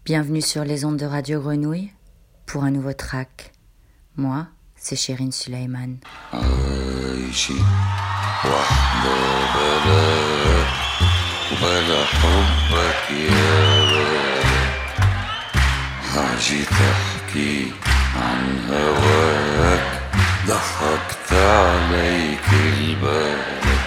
Bienvenue sur les ondes de Radio Grenouille pour un nouveau track. Moi, c'est Chérine Suleiman. حاجي تحكي عن هواك ضحكت عليك البالك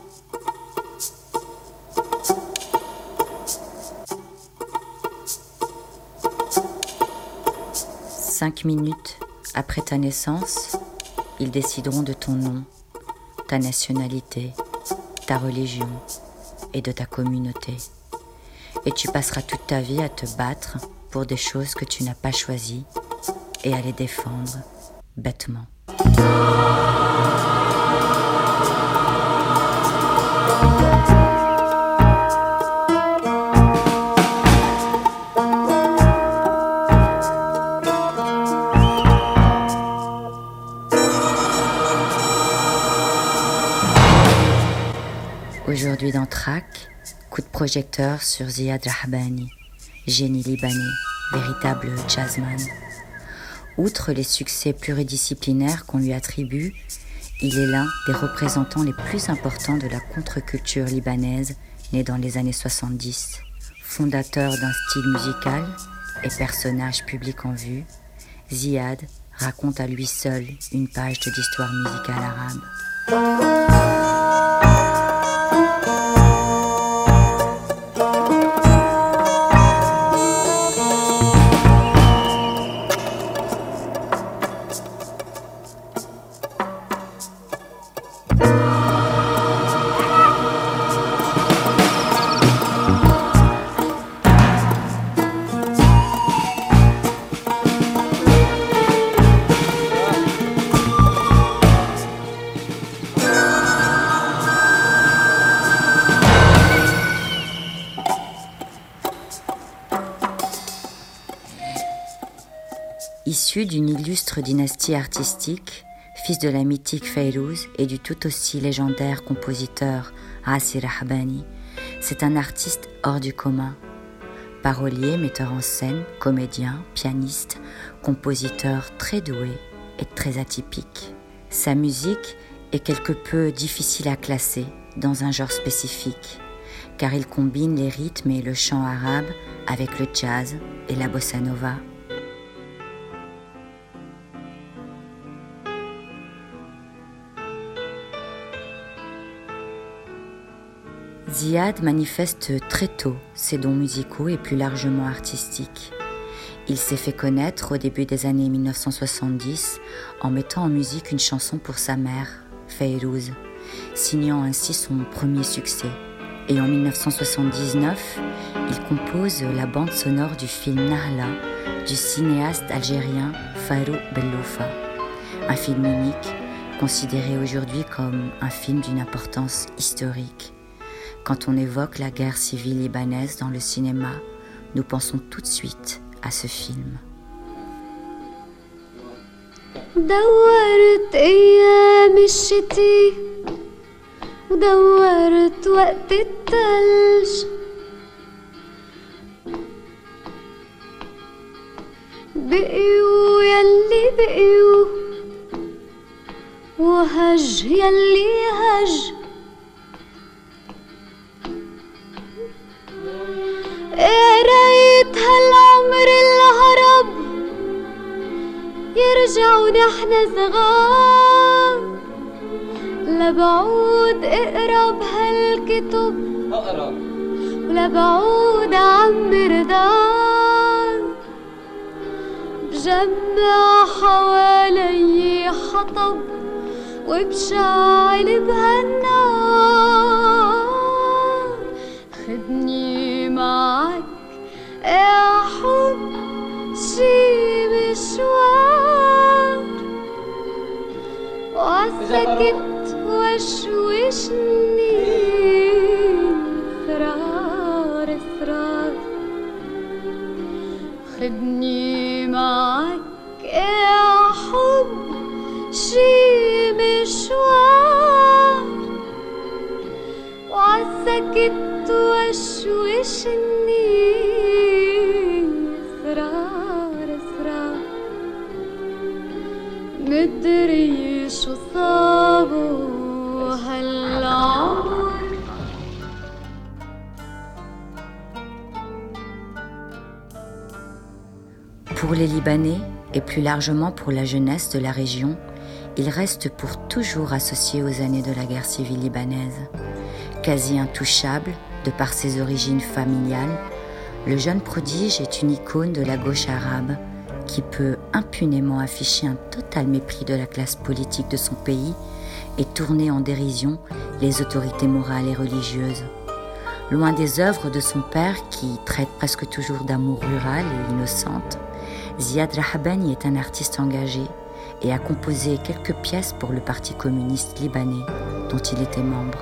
5 minutes après ta naissance, ils décideront de ton nom, ta nationalité, ta religion et de ta communauté. Et tu passeras toute ta vie à te battre pour des choses que tu n'as pas choisies et à les défendre bêtement. Aujourd'hui dans Track, coup de projecteur sur Ziad Rahbani, génie libanais, véritable jazzman. Outre les succès pluridisciplinaires qu'on lui attribue, il est l'un des représentants les plus importants de la contre-culture libanaise née dans les années 70. Fondateur d'un style musical et personnage public en vue, Ziad raconte à lui seul une page de l'histoire musicale arabe. Issu d'une illustre dynastie artistique, fils de la mythique Fayrouz et du tout aussi légendaire compositeur Asi Rahbani, c'est un artiste hors du commun. Parolier, metteur en scène, comédien, pianiste, compositeur très doué et très atypique. Sa musique est quelque peu difficile à classer dans un genre spécifique, car il combine les rythmes et le chant arabe avec le jazz et la bossa nova. Ziad manifeste très tôt ses dons musicaux et plus largement artistiques. Il s'est fait connaître au début des années 1970 en mettant en musique une chanson pour sa mère, Fayrouz, signant ainsi son premier succès. Et en 1979, il compose la bande sonore du film Nahla du cinéaste algérien Farou Belloufa, un film unique considéré aujourd'hui comme un film d'une importance historique. Quand on évoque la guerre civile libanaise dans le cinéma, nous pensons tout de suite à ce film. دورت أيام الشتي ودورت وقت التلج بقيوا يلي بقيوا وهج يلي هج قريت هالعمر الهرب يرجع ونحن صغار لبعود اقرب هالكتب ولبعود عمر دار بجمع حوالي حطب وبشعل بهالنار خدني معك يا حب شي مشوار وعالسكت وشوشني اسرار اسرار خدني معك يا حب شي مشوار وعالسكت وشوشني مدري شو صابوا هالعمر. Pour les Libanais, et plus largement pour la jeunesse de la région, il reste pour toujours associé aux années de la guerre civile libanaise. Quasi intouchable, de par ses origines familiales, le jeune prodige est une icône de la gauche arabe qui peut impunément afficher un total mépris de la classe politique de son pays et tourner en dérision les autorités morales et religieuses. Loin des œuvres de son père qui traite presque toujours d'amour rural et innocente, Ziad Rahabani est un artiste engagé et a composé quelques pièces pour le Parti communiste libanais dont il était membre.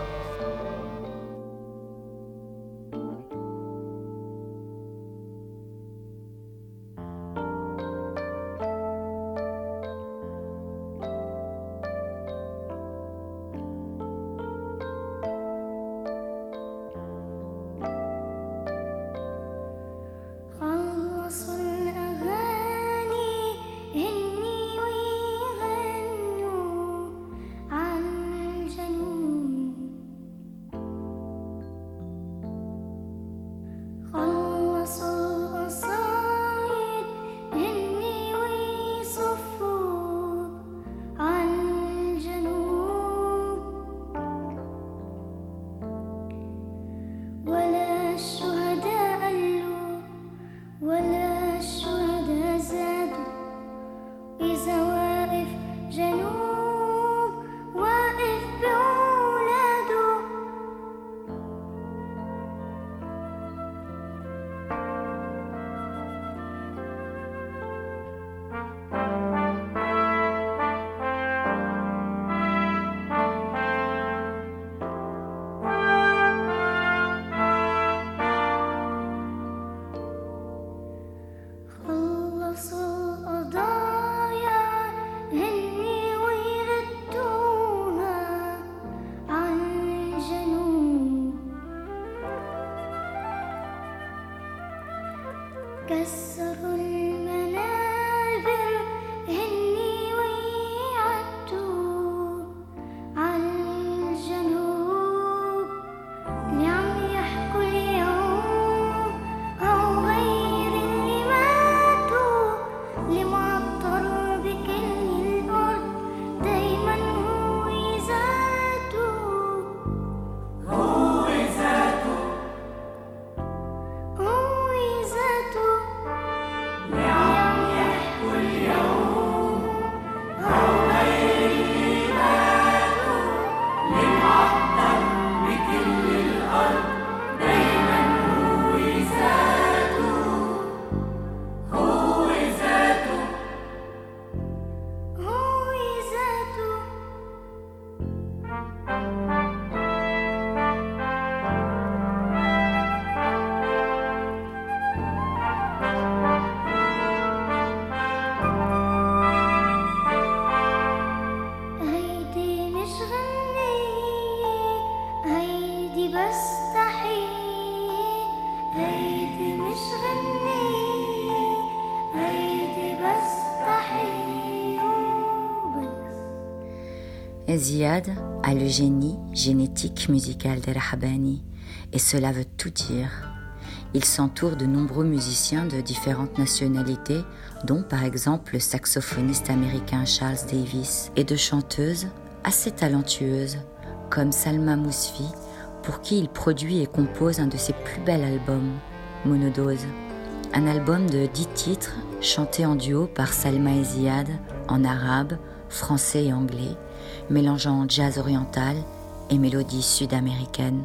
Ziad a le génie génétique musical de Rahabani, et cela veut tout dire. Il s'entoure de nombreux musiciens de différentes nationalités, dont par exemple le saxophoniste américain Charles Davis, et de chanteuses assez talentueuses, comme Salma Mousfi, pour qui il produit et compose un de ses plus bels albums, Monodose. Un album de 10 titres, chantés en duo par Salma et Ziad, en arabe, français et anglais, mélangeant jazz oriental et mélodies sud-américaines.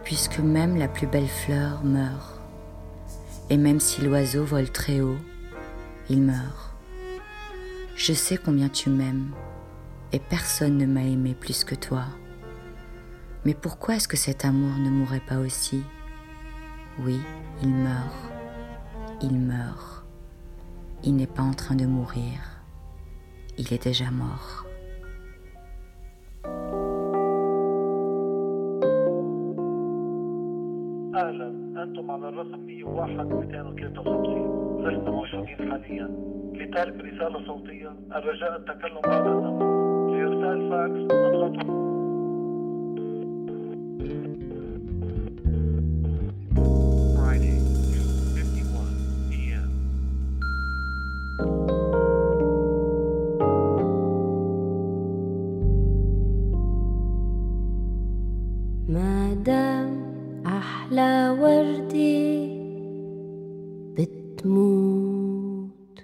puisque même la plus belle fleur meurt. Et même si l'oiseau vole très haut, il meurt. Je sais combien tu m'aimes, et personne ne m'a aimé plus que toi. Mais pourquoi est-ce que cet amour ne mourrait pas aussi ? Oui, il meurt. Il meurt. Il n'est pas en train de mourir. Il est déjà mort. أهلا، أنتم على الرقم 101-253. لسنا موجودين حاليا. لطالب رسالة صوتية الرجاء التكلم بعد النص. لإرسال فاكس اضغطوا. Friday, 2:51 p.m. مادام أحلى وردي بتموت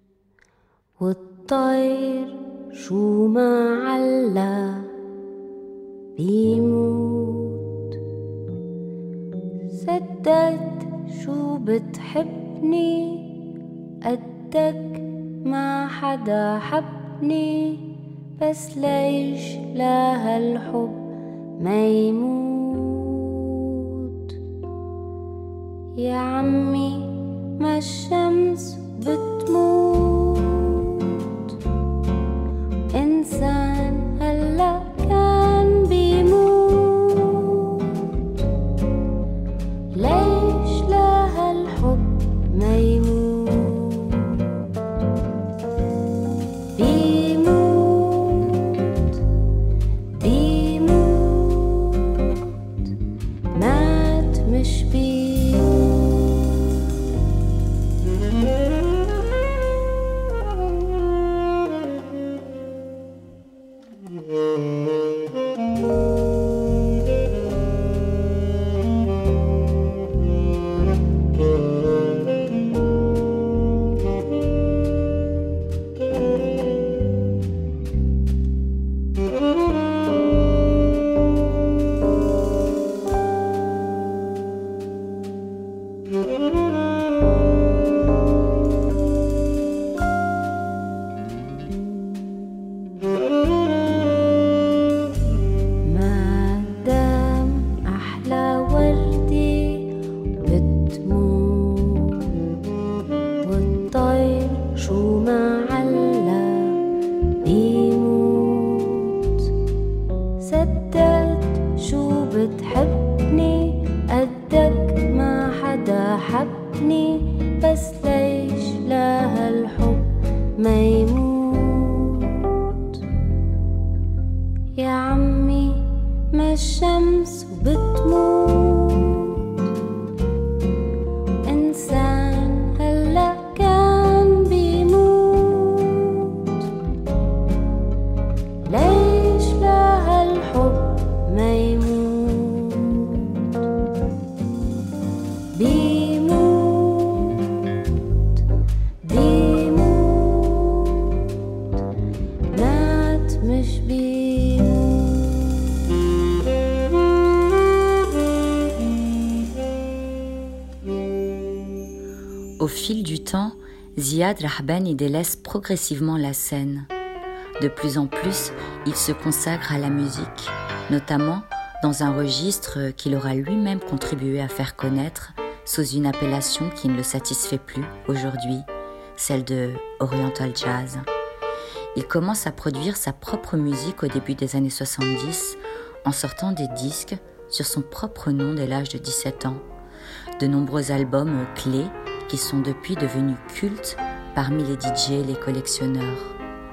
والطير شو ما علا بيموت صدقت شو بتحبني قدك ما حدا حبني بس ليش لا هالحب ما يموت يا عمي ما الشمس بتموت إنسان هلأ كان بيموت ليش لا هالحب ما يموت Au fil du temps, Ziad Rahbani délaisse progressivement la scène. De plus en plus, il se consacre à la musique, notamment dans un registre qu'il aura lui-même contribué à faire connaître sous une appellation qui ne le satisfait plus aujourd'hui, celle de Oriental Jazz. Il commence à produire sa propre musique au début des années 70 en sortant des disques sur son propre nom dès l'âge de 17 ans. De nombreux albums clés qui sont depuis devenus cultes parmi les DJ et les collectionneurs.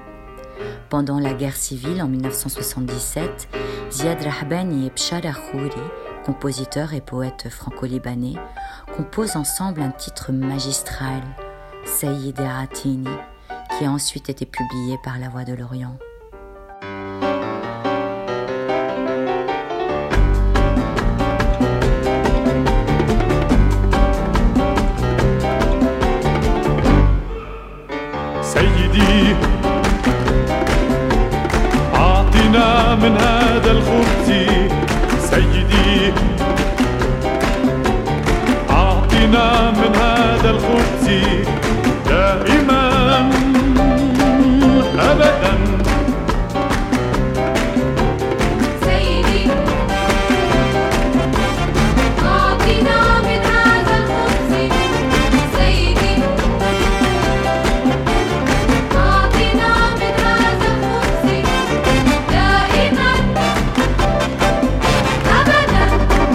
Pendant la guerre civile en 1977, Ziad Rahbani et Bshara Khouri, compositeur et poète franco-libanais, composent ensemble un titre magistral, Sayyid Atini, qui a ensuite été publié par La Voix de l'Orient. سيدي أعطنا من هذا الخبز سيدي سيدي دائما أبدا. سيدي أعطنا من هذا القدس. سيدي أعطنا من هذا القدس دائما أبدا.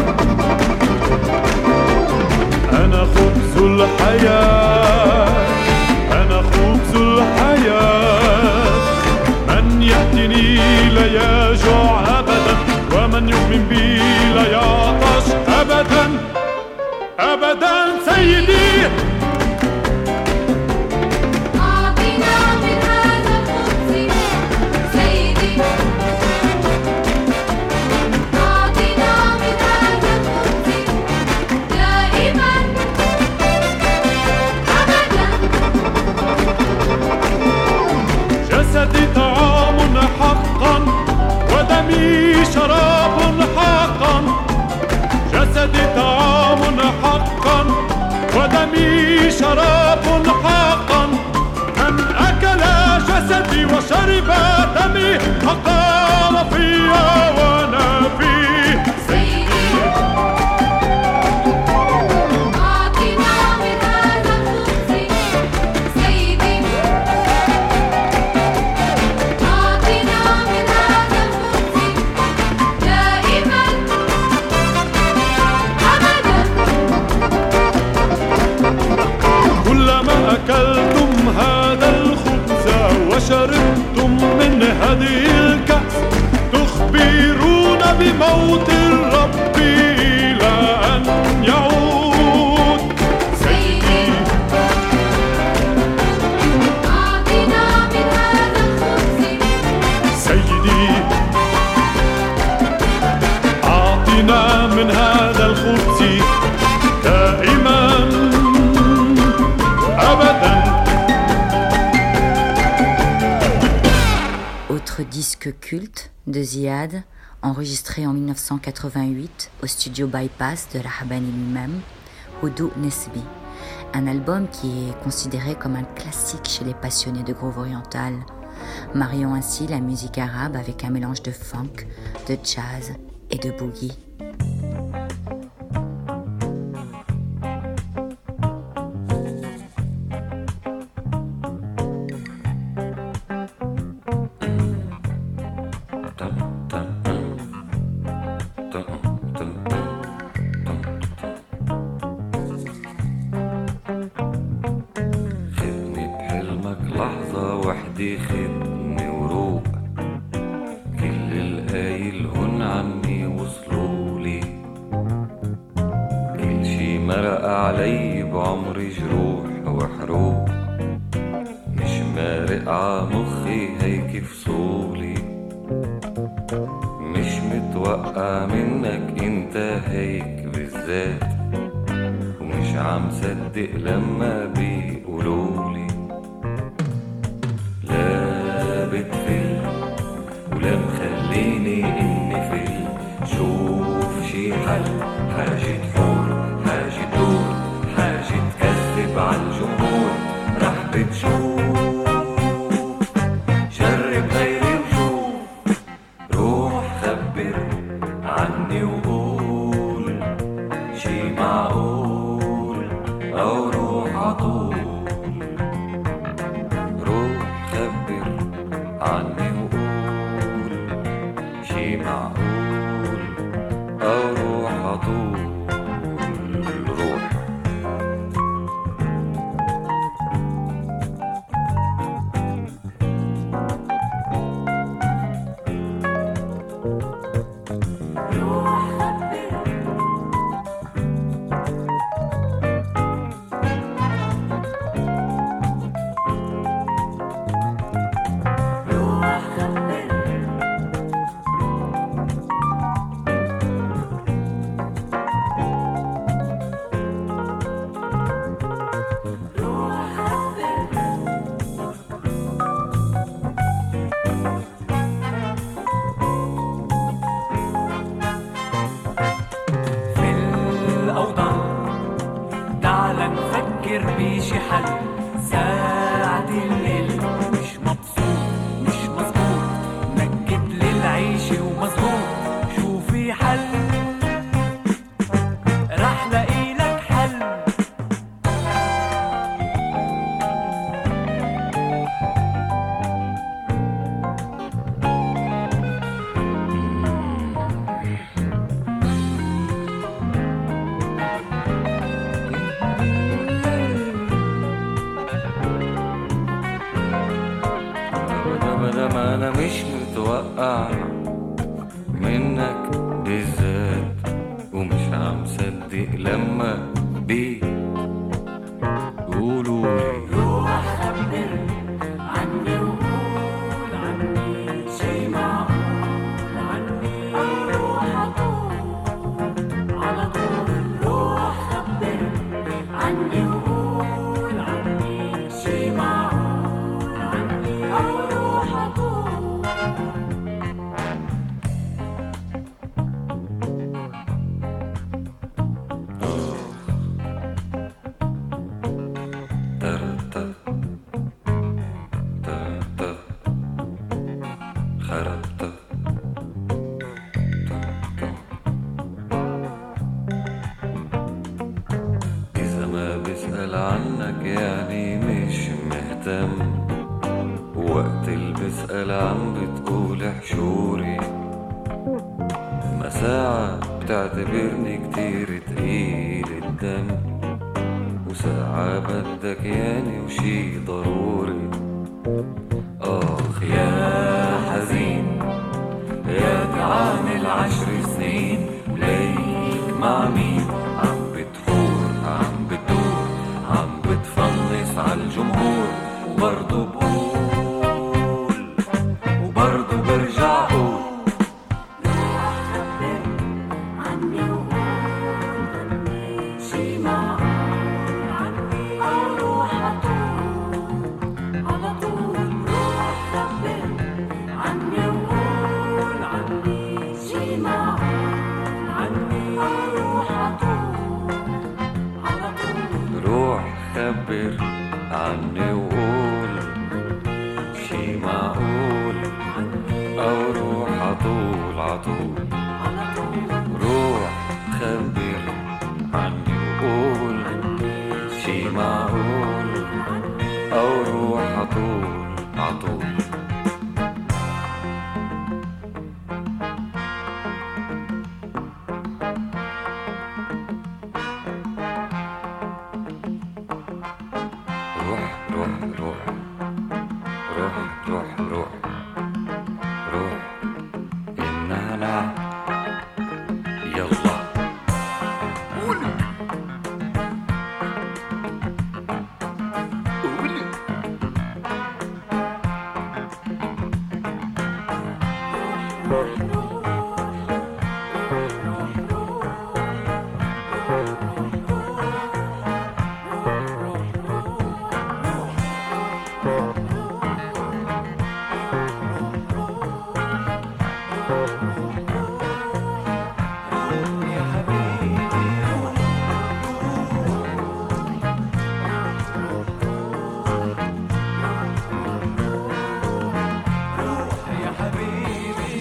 أنا خبز الحياة، أنا خبز الحياة، من يأتيني لا يجوع أبدا، ومن يؤمن بي لا يعطش أبدا أبدا. سيدي أعطنا من هذا القدس. سيدي أعطنا من هذا القدس دائما أبدا. جسدي طعام حقا، ودمي شراب حقا. جسدي طعام حقا، ودمي شراب حقا. من أكل جسدي وشرب دمي أقام فيا وأنا فيه. سيدي أعطنا من هذا القدس. سيدي أعطنا من هذا القدس دائما أبدا. كلما أكلتم هذا الخبز وشربتم من هذه الكأس، تخبرون بموت الرب إلى أن يعود. سيدي أعطنا من هذا الخبز. سيدي أعطنا من هذا الخبز دائما أبدا. Autre disque culte de Ziad, enregistré en 1988 au studio Bypass de Rahabani lui-même, Houdou Nesbi, un album qui est considéré comme un classique chez les passionnés de groove oriental, mariant ainsi la musique arabe avec un mélange de funk, de jazz et de boogie. خدني بحلمك لحظة وحدي، خدني وروق كل القايلهن عني وصلولي. كل شي مرق علي بعمري جروح وحروق، مش مارق عمخي هيك فصولي. مش متوقع منك انت هيك بالذات، ومش عم صدق لما بيقولولي. لا بتفل ولا مخليني اني فل. شوف شي حل، حاجة حور، حاجة دور، حاجة تكذب عالجمهور. رح بتشوف، جرب غيري وشوف. روح خبر عني وقول شي معقول، أو روح عطول. روح خبر عني وقول شي معقول، أو روح عطول. روح ماشي ومظبوط شوفي حل رح لاقي لك حل ابدا ما انا مش متوقع منك بالذات ومش عم صدق لما بيقولولي روح خبر عني وقول عني شي معقول عني روح أطول على طول روح خبر عني وقول عني شي معقول عني روح أطول ترتا ترتا خربتا ترتا. إذا ما بسأل عنك يعني مش مهتم وقت اللي بسأل عم بتقول حشوري ما ساعة بتعتبرني كتير تقيل الدم وساعة بدك ياني وشي ضروري آخ يا حزين يا تعامل 10 سنين ليك مع مين عم بتحور عم بتدور عم بتفلس عالجمهور وبرضو بقول وبرضو برجع قول عني وقول عني شي معقول عني روح أطول على طول روح خبر عني وقول عني شي معقول عني روح أطول على طول روح خبر عني وقول شي معقول أو روح عطول عطول على طول روح خبر عني وقول شي معقول أو روح عطول عطول. روح روح روح روح روح روح روح النعناع يلا قولي قولي يا حبيبي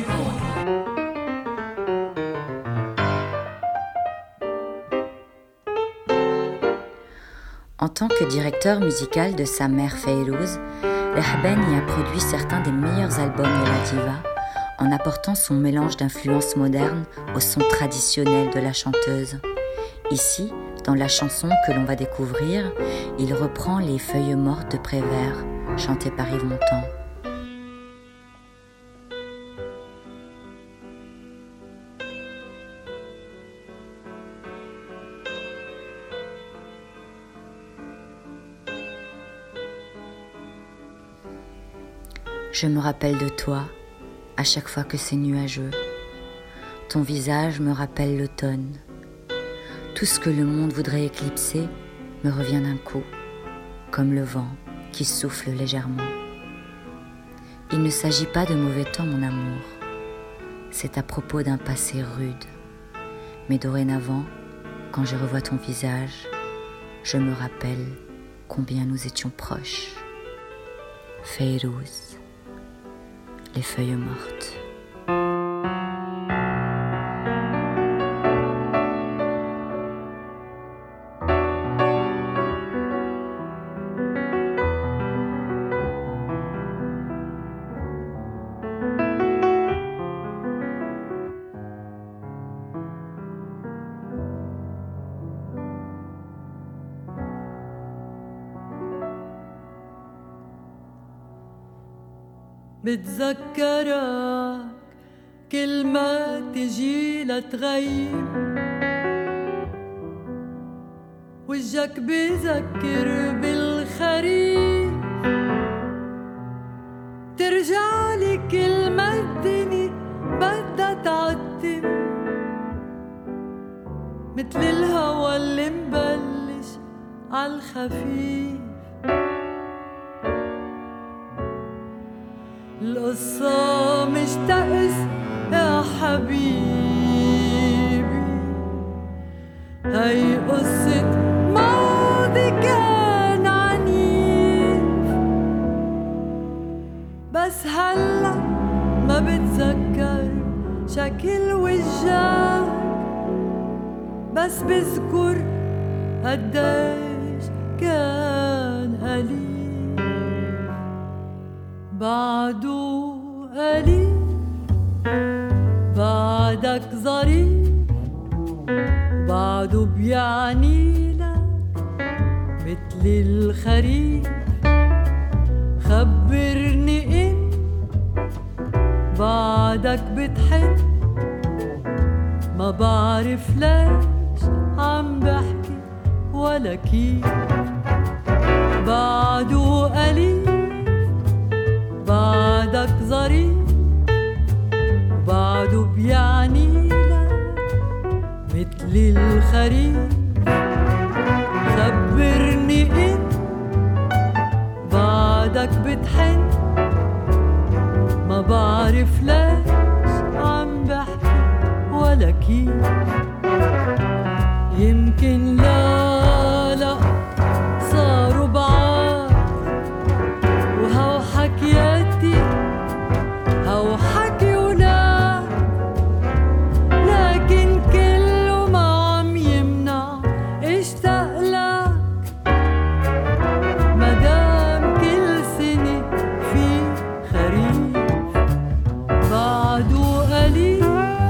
En tant que directeur musical de sa mère Fayrouz, Rehben y a produit certains des meilleurs albums de la diva en apportant son mélange d'influences modernes au son traditionnel de la chanteuse. Ici, dans la chanson que l'on va découvrir, il reprend Les Feuilles mortes de Prévert, chantées par Yves Montand. Je me rappelle de toi à chaque fois que c'est nuageux. Ton visage me rappelle l'automne. Tout ce que le monde voudrait éclipser me revient d'un coup, comme le vent qui souffle légèrement. Il ne s'agit pas de mauvais temps, mon amour. C'est à propos d'un passé rude. Mais dorénavant, quand je revois ton visage, je me rappelle combien nous étions proches. Fayrouz, les feuilles mortes. بتذكرك كل ما تجي لتغيب، وجهك بذكر بالخريف، ترجعلي كل ما الدنيا بدها تعتم، متل الهوى اللي مبلش عالخفيف. القصة مش تأس يا حبيبي، هاي قصة ماضي كان عنيف، بس هلأ ما بتذكر شكل وجهك، بس بذكر قديش كان قليل. بعده قليل بعدك ظريف، بعده بيعني لك متل الخريف. خبرني إن بعدك بتحن، ما بعرف ليش عم بحكي ولا كيف. بعده قليل بعدك ظريف، بعده بيعني لك متل الخريف. خبرني إن بعدك بتحن، ما بعرف ليش عم بحكي ولا كيف. يمكن لا صاروا بعاد، وهو حكياتي هو حكي ولاد، لكن كله ما عم يمنع اشتاق لك. مدام كل سنة في خريف، بعده قليل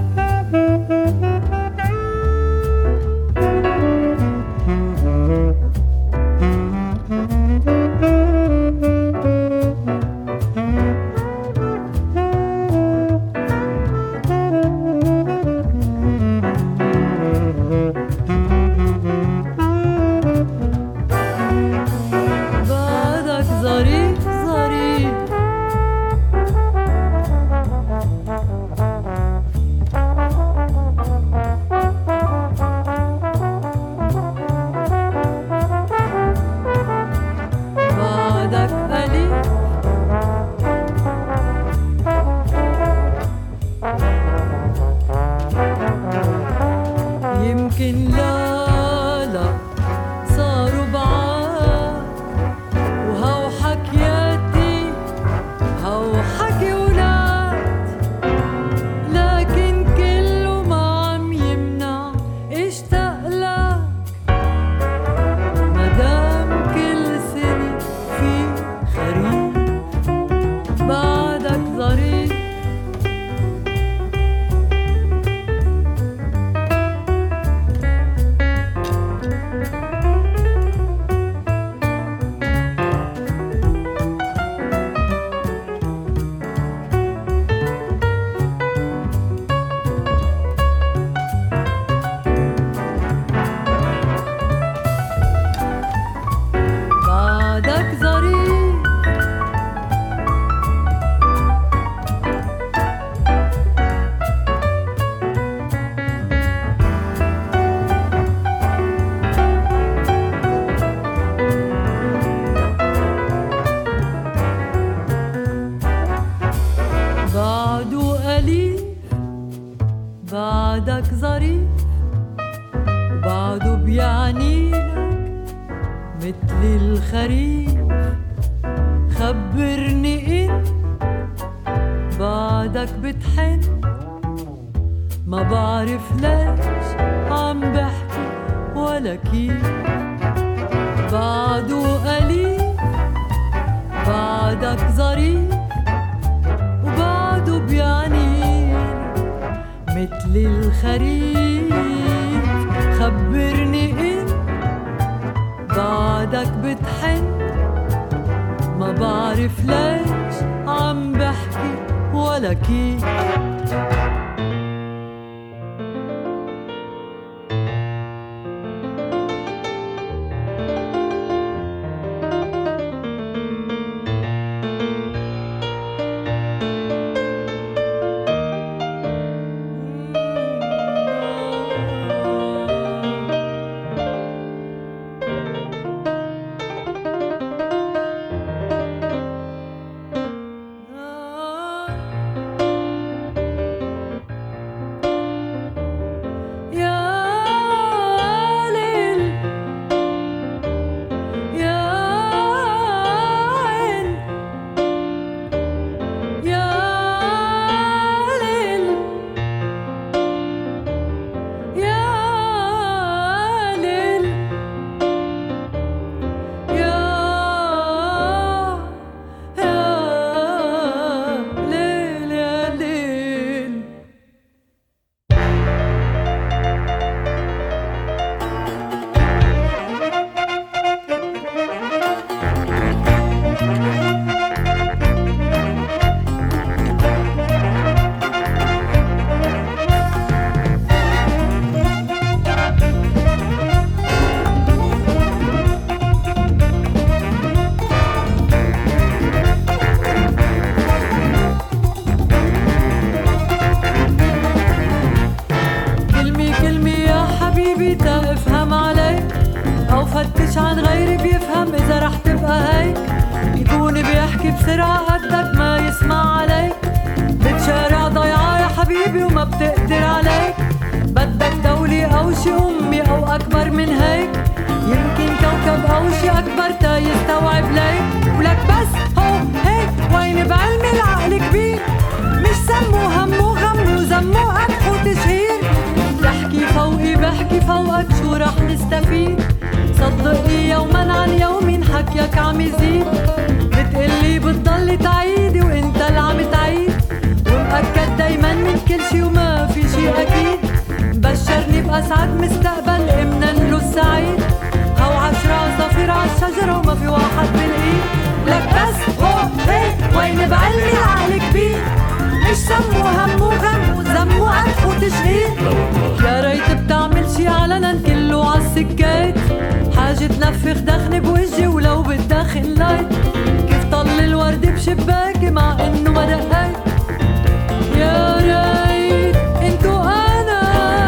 بعدك ظريف ظريف. بعدك قليل يمكن لا صاروا بعاد، وهو حكياتي هو حكي ولاد، لكن كله ما عم يمنع اشتاق لك. مدام كل سنة في خريف، بعدك ظريف. بعدك ظريف بعده قليل بعدك ظريف، وبعده بيعني لك متل الخريف. خبرني إن بعدك بتحن، ما بعرف ليش عم بحكي ولا كيف. بعده قليل بعدك ظريف، وبعده بيعني متل الخريف. خبرني إن بعدك بتحن، ما بعرف ليش عم بحكي ولا كيف. فتش عن غيري بيفهم إذا رح تبقى هيك، يكون بيحكي بسرعة قدك ما يسمع عليك، بتشارع ضيعة يا حبيبي وما بتقدر عليك، بدك دولة أو شي أمي أو أكبر من هيك، يمكن كوكب أو شي أكبر تا يستوعب ليك، ولك بس هو هيك وين بعلمي العقل كبير، مش سمو همو غمو زمو قدح وتشهير، تحكي فوقي بحكي فوقك شو رح نستفيد، صدقني يوما عن يوم حكيك عم يزيد، بتقلي بتضلي تعيدي وانت اللي عم تعيد، ومأكد دايما من كل شي وما في شي اكيد، بشرني بأسعد مستقبل امنا له السعيد، هو 10 صفير عالشجرة وما في واحد بالايد، لك بس هو هيك وين بعلمي العقل كبير، مش سمو همو غمو زمو قدح وتشهير، يا ريت بتعمل شي علنا كله عالسكات، حاجة تنفخ دخن بوجهي ولو بتدخن لايت، كيف طل الورد بشباكي مع انه ما دقيت، يا ريت انتو انا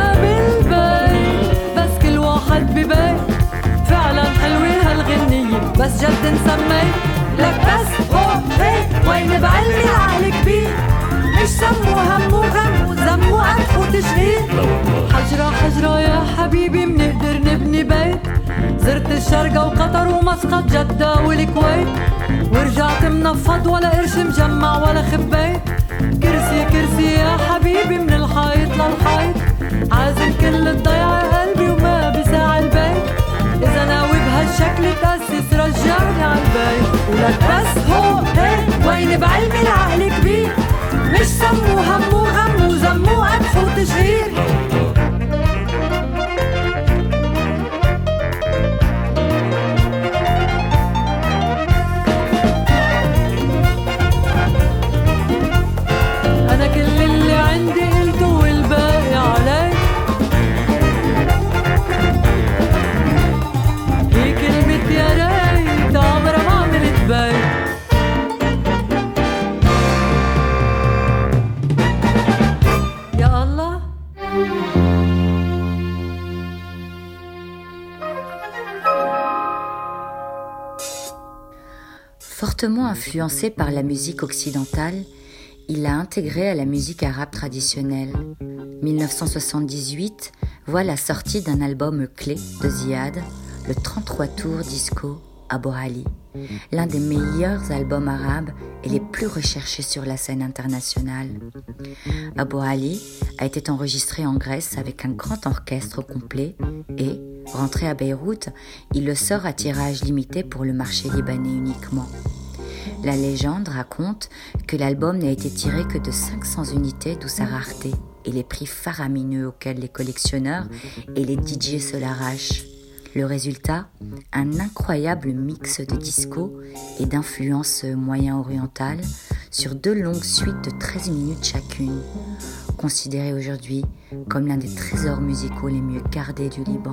بالبيت، بس كل واحد ببيت، فعلا حلوة هالغنية بس جد نسميت، لك بس هو هيك وين بعلمي العقل كبير، مش سمو همو غمو زمو قدح وتشهير، حجرة حجرة يا حبيبي منقدر نبني بيت، زرت الشرقة وقطر ومسقط جدة والكويت، ورجعت منفض ولا قرش مجمع ولا خبيت، كرسي كرسي يا حبيبي من الحيط للحيط، عازم كل الضيعة قلبي وما بساع البيت، إذا ناوي بهالشكل تأسس رجعني عالبيت، ولك بس هو هيك وين بعلمي العقل كبير، مش سمو همو غمو زمو قدح وتشهير. أنا كل اللي عندي قلته والباقي عليك، هي كلمة يا ريت عمرها ما عملت بيت. Fortement influencé par la musique occidentale, il l'a intégré à la musique arabe traditionnelle. 1978 voit la sortie d'un album clé de Ziad, le 33 tours disco Abou Ali, l'un des meilleurs albums arabes et les plus recherchés sur la scène internationale. Abou Ali a été enregistré en Grèce avec un grand orchestre complet et, rentré à Beyrouth, il le sort à tirage limité pour le marché libanais uniquement. La légende raconte que l'album n'a été tiré que de 500 unités, d'où sa rareté et les prix faramineux auxquels les collectionneurs et les DJ se l'arrachent. Le résultat, un incroyable mix de disco et d'influences moyen-orientales sur 2 longues suites de 13 minutes chacune, considérées aujourd'hui comme l'un des trésors musicaux les mieux gardés du Liban.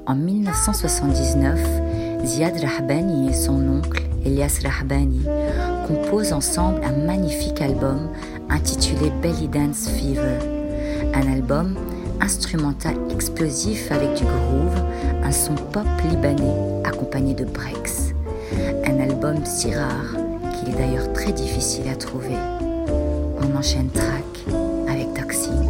En 1979, Ziad Rahbani et son oncle, Elias Rahbani, composent ensemble un magnifique album intitulé Belly Dance Fever, un album instrumental explosif avec du groove, un son pop libanais accompagné de breaks. Un album si rare qu'il est d'ailleurs très difficile à trouver. On enchaîne track avec Toxine.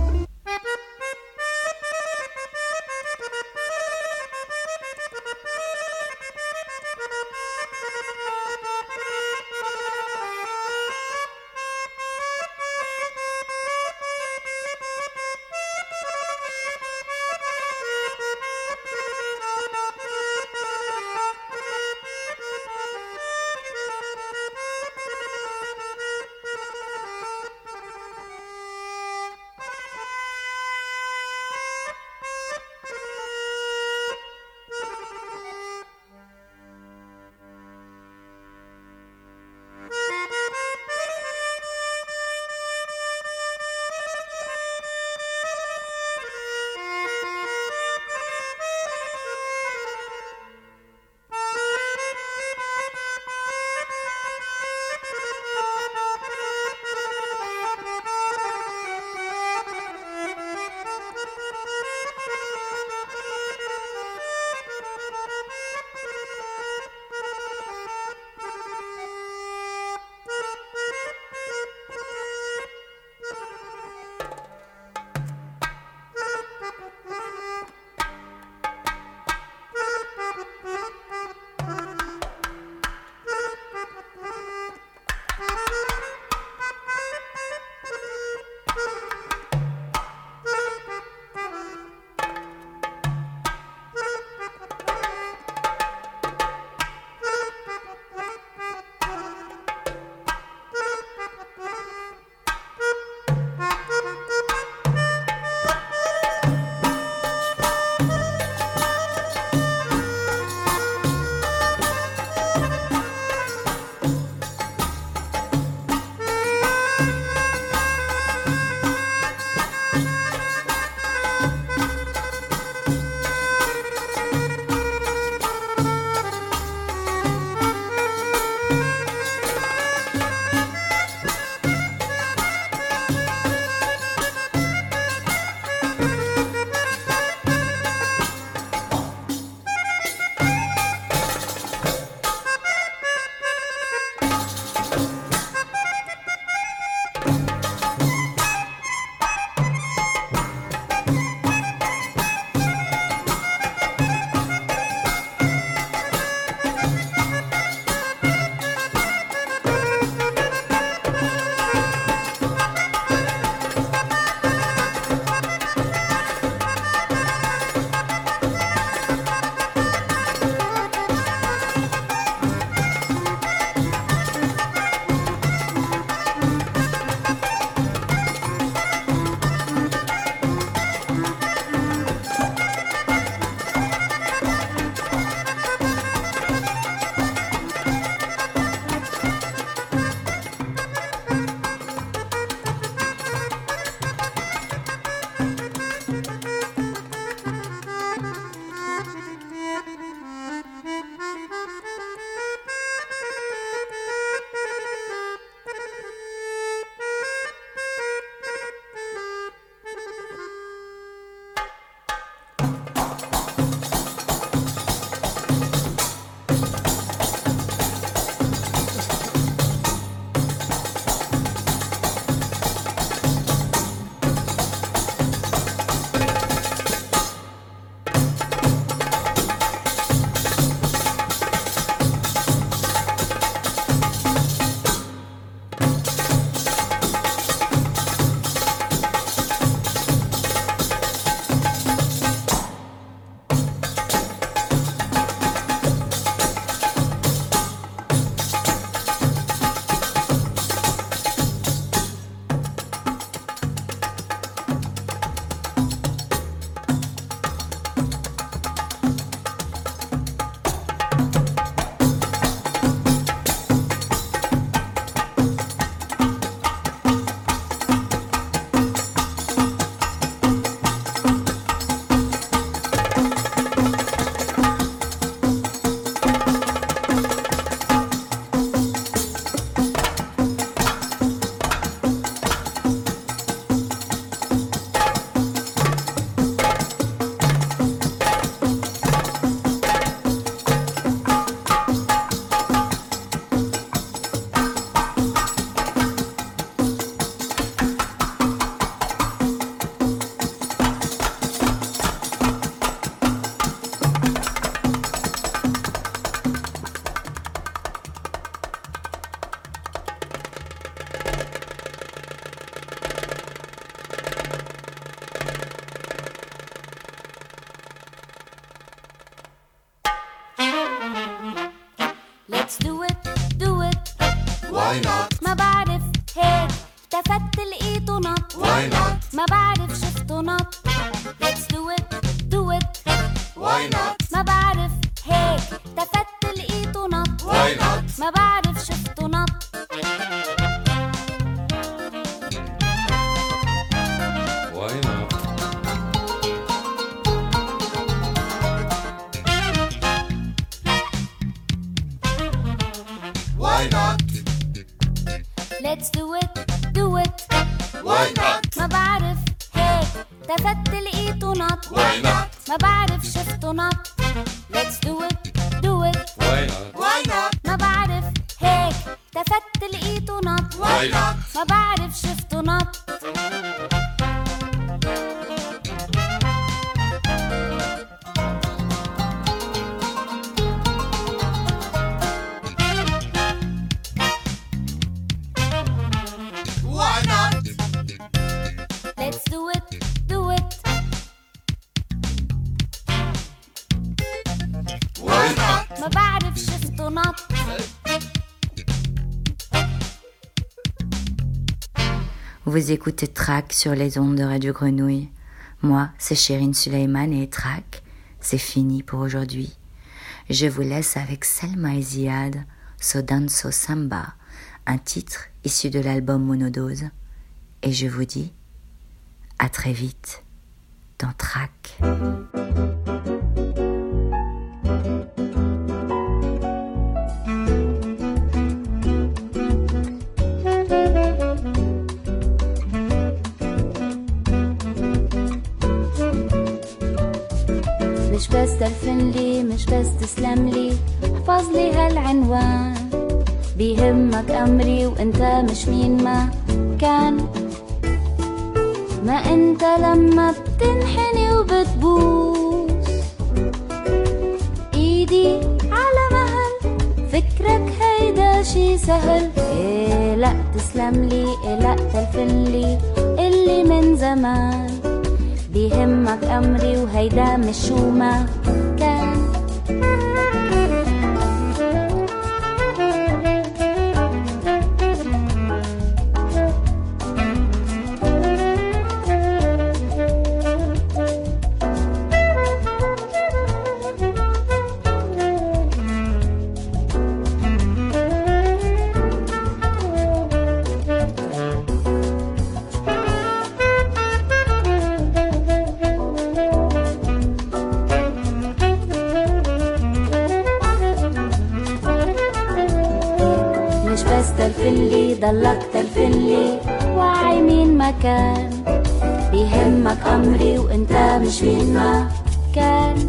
ما بعرف هيك التفت لقيته نط ما بعرف شفته نط Let's do it do it ما بعرف هيك التفت لقيته نط ما بعرف شفته نط Let's do it do it ما بعرف هيك التفت لقيته نط ما بعرف شفته نط Let's do it do it ما بعرف هيك التفت لقيته نط ما بعرف شفته نط Let's do it do it ما بعرف شفته نط Vous écoutez Track sur les ondes de Radio Grenouille. Moi, c'est Chérine Suleiman et Track, c'est fini pour aujourd'hui. Je vous laisse avec Selma et Ziad, So Danso Samba, un titre issu de l'album Monodose. Et je vous dis à très vite dans Track. مش بس تلفنلي مش بس تسلملي احفظلي هالعنوان بيهمك أمري وانت مش مين ما كان ما انت لما بتنحني وبتبوس ايدي على مهل فكرك هيدا شي سهل إيه لا تسلملي إيه لا تلفنلي اللي من زمان بيهمك أمري وهيدا مش شو ما كان تلفنلي ضلك تلفنلي وعي مين ما كان بيهمك أمري وانت مش مين ما كان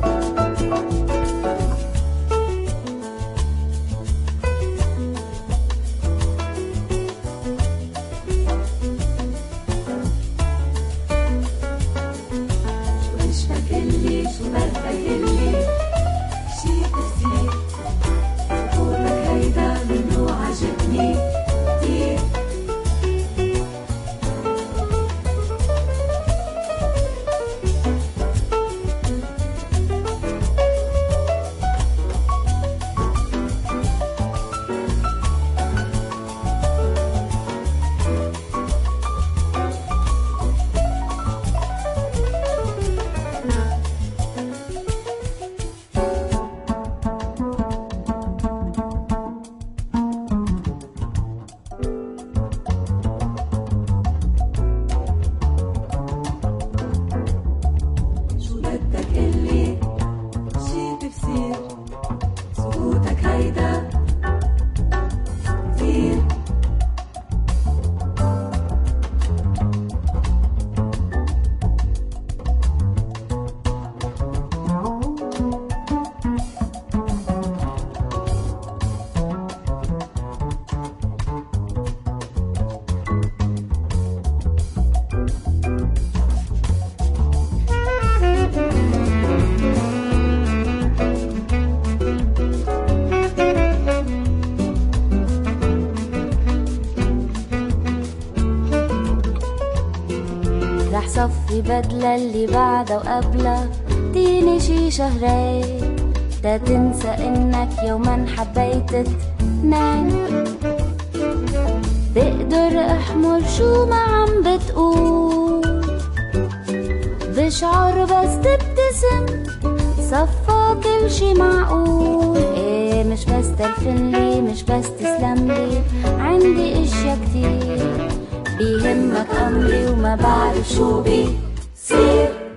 صفي بدلة اللي بعدها وقبلها ديني شي شهرين تا تنسى انك يوما حبيت تنام بقدر احمل شو ما عم بتقول، بشعر بس تبتسم صفى كل شي معقول. ايه مش بس تلفنلي مش بس تسلملي، عندي اشياء كتير بيهمك امري وما بعرف شو بيصير.